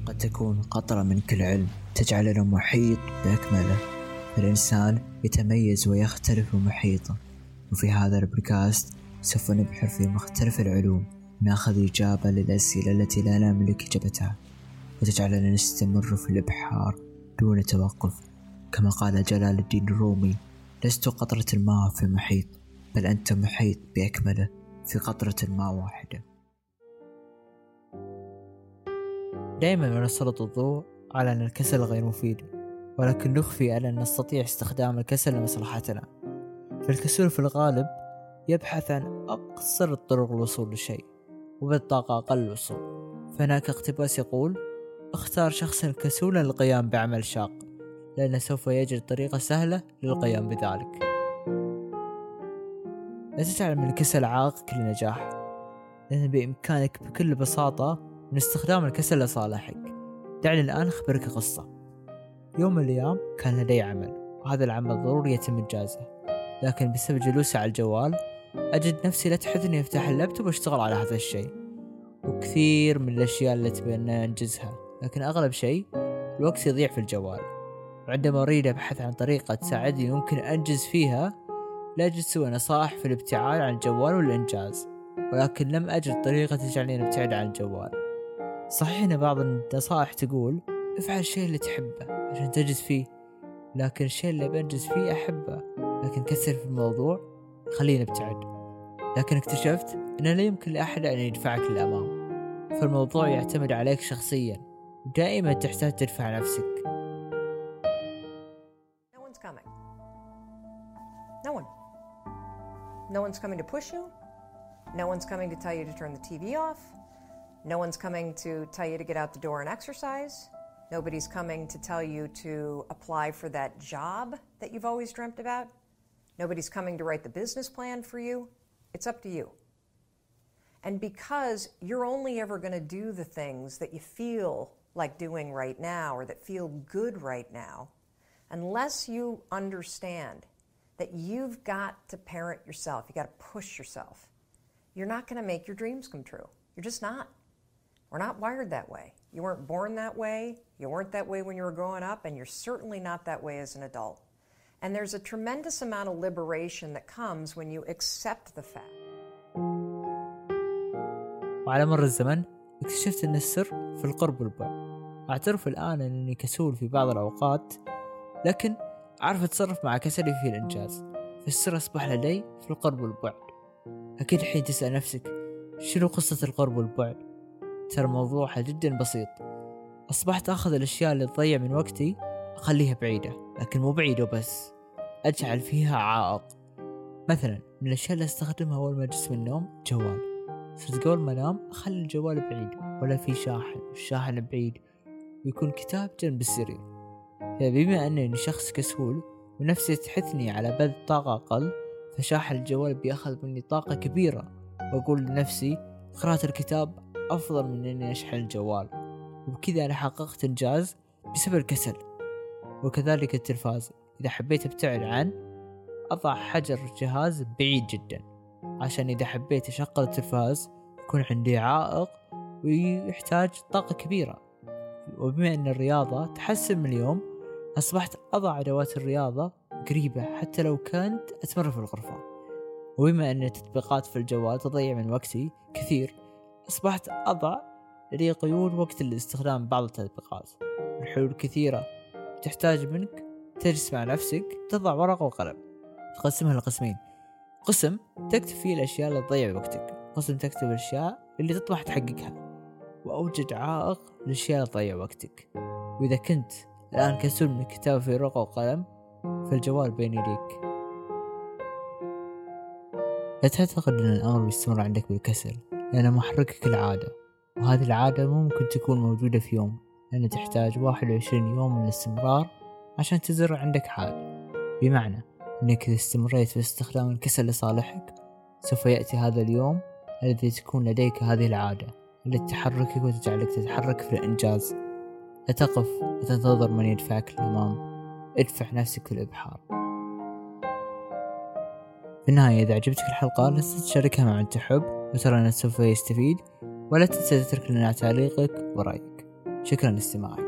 قد تكون قطرة من كل علم تجعلنا محيط بأكمله. الإنسان يتميز ويختلف محيطه، وفي هذا البودكاست سوف نبحر في مختلف العلوم، ناخذ إجابة للأسئلة التي لا نملك إجابتها، وتجعلنا نستمر في الإبحار دون توقف. كما قال جلال الدين الرومي: لست قطرة ماء في محيط، بل أنت محيط بأكمله في قطرة ماء واحدة. دائما نسلط الضوء على أن الكسل غير مفيد، ولكن نخفي أن نستطيع استخدام الكسل لمصلحتنا. فالكسول في الغالب يبحث عن أقصر الطرق للوصول للشيء، وبالطاقة أقل الوصول. فهناك اقتباس يقول: اختار شخصا كسولا للقيام بعمل شاق، لأنه سوف يجد طريقة سهلة للقيام بذلك. لا تجعل من الكسل عائق للنجاح، لأن بإمكانك بكل بساطة من استخدام الكسل لصالحك. دعني الآن أخبرك قصة. يوم من الأيام كان لدي عمل، وهذا العمل ضروري يتم إنجازه، لكن بسبب جلوسي على الجوال أجد نفسي لا تحدثني أفتح اللابتوب واشتغل على هذا الشيء. وكثير من الأشياء التي أتمنى أنجزها، لكن أغلب شيء الوقت يضيع في الجوال. وعندما أريد أبحث عن طريقة تساعدني يمكن أنجز فيها، لا أجد سوى نصائح في الابتعاد عن الجوال والإنجاز، ولكن لم أجد طريقة تجعلني أبتعد عن الجوال. صحيح أن بعض النصائح تقول افعل الشيء اللي تحبه عشان تنجز فيه، لكن الشيء اللي بنجز فيه أحبه، لكن كسر في الموضوع خلينا نبتعد. لكن اكتشفت أن لا يمكن لأحد أن يدفعك للأمام، فالموضوع يعتمد عليك شخصيا، ودائما تحتاج تدفع نفسك. No one's coming. No one's coming to push you. No one's coming to tell you to turn the TV off. No one's coming to tell you to get out the door and exercise. Nobody's coming to tell you to apply for that job that you've always dreamt about. Nobody's coming to write the business plan for you. It's up to you. And because you're only ever going to do the things that you feel like doing right now or that feel good right now, unless you understand that you've got to parent yourself, you got to push yourself, you're not going to make your dreams come true. You're just not. We're not wired that way. You weren't born that way. You weren't that way when you were growing up, and you're certainly not that way as an adult. And there's a tremendous amount of liberation that comes when you accept the fact. وعلى مر الزمن اكتشفت أن السر في القرب والبعد. أعترف الآن أنني كسول في بعض الأوقات، لكن أعرف أتصرف مع كسلي في الإنجاز. فالسر أصبح لدي في القرب والبعد. أكيد حين تسأل نفسك شنو قصة القرب والبعد، ترى موضوعها جدا بسيط. أصبحت أخذ الأشياء اللي تضيع من وقتي أخليها بعيدة، لكن مو بعيدة بس، أجعل فيها عائق. مثلا من الأشياء اللي أستخدمها أول ما أجلس من النوم جوال. صرت قبل ما أنام أخلي الجوال بعيد، ولا في شاحن، والشاحن بعيد، ويكون كتاب جنب السرير. فبما أنني شخص كسول ونفسي تحثني على بذل طاقة أقل، فشاحن الجوال بيأخذ مني طاقة كبيرة، وأقول لنفسي قراءة الكتاب أفضل من أني أشحن الجوال. وبكذا أنا حققت إنجاز بسبب الكسل. وكذلك التلفاز، إذا حبيت أبتعد عن، أضع حجر جهاز بعيد جدا، عشان إذا حبيت أشغل التلفاز يكون عندي عائق ويحتاج طاقة كبيرة. وبما أن الرياضة تحسن من اليوم، أصبحت أضع أدوات الرياضة قريبة حتى لو كنت أتمرن في الغرفة. وبما أن التطبيقات في الجوال تضيع من وقتي كثير، أصبحت أضع لدي قيود وقت الاستخدام بعض التطبيقات. الحلول كثيرة، تحتاج منك تجلس مع نفسك، تضع ورقة وقلم، تقسمها لقسمين: قسم تكتب فيه الأشياء اللي تضيع وقتك، قسم تكتب الأشياء اللي تطمح تحققها. وأوجد عائق للأشياء اللي تضيع وقتك. وإذا كنت الآن كسول من الكتابة في ورقة وقلم، فالجوال بين يديك. لا تعتقد أن الأمر بيستمر عندك بالكسل، لأن محركك العادة، وهذه العادة ممكن تكون موجودة في يوم، لأن تحتاج 21 يوم من الاستمرار عشان تزرع عندك عادة. بمعنى أنك إذا استمريت في استخدام الكسل لصالحك، سوف يأتي هذا اليوم الذي تكون لديك هذه العادة التي تحركك وتجعلك تتحرك في الإنجاز. لا تقف وتنتظر من يدفعك للأمام، ادفع نفسك في الإبحار. في النهاية، إذا عجبتك الحلقة لا تنسى تشاركها مع من تحب وترى أنه سوف يستفيد، ولا تنسى تترك لنا تعليقك ورأيك. شكرا لاستماعك.